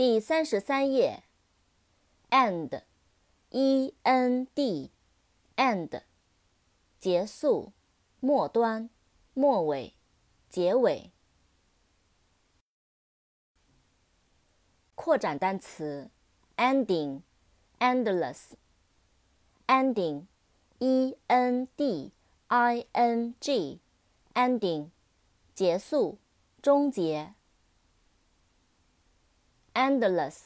第33页 end E-N-D end 结束、末端、末尾、结尾。扩展单词 ending endless ending E-N-D-I-N-G ending 结束、终结。endless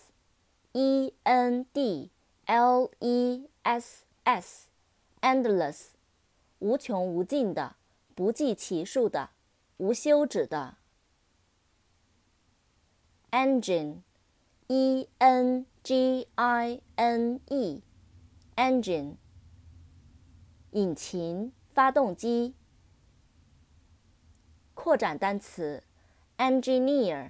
E-N-D-L-E-S-S endless 无穷无尽的、不计其数的、无休止的。engine E-N-G-I-N-E engine 引擎、发动机。扩展单词 engineer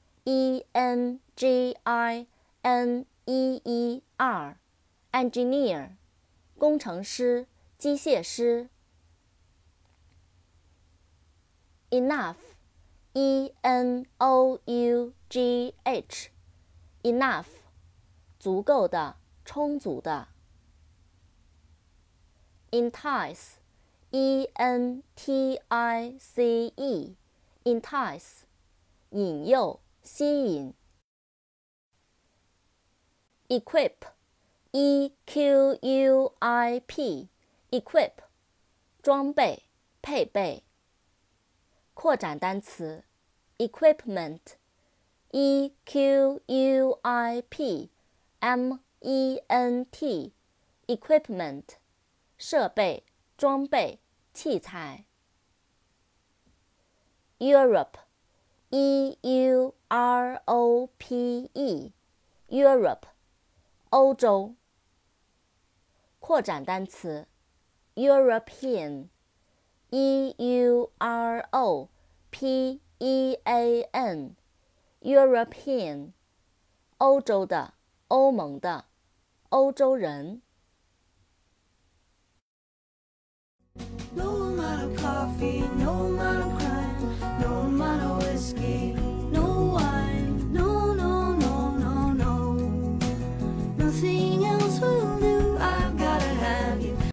E-N-G-I-N-E-E-R engineer 工程师、机械师。enough E-N-O-U-G-H enough 足够的、充足的。entice E-N-T-I-C-E entice 引诱、吸引。equip E-Q-U-I-P equip 装备、配备。扩展单词 equipment E-Q-U-I-P-M-E-N-T equipment 设备、装备、器材。Europe E-U-R-O-P-E Europe 欧洲。扩展单词 European E-U-R-O-P-E-A-N European 欧洲的、欧盟的、欧洲人。 No amount of coffee, no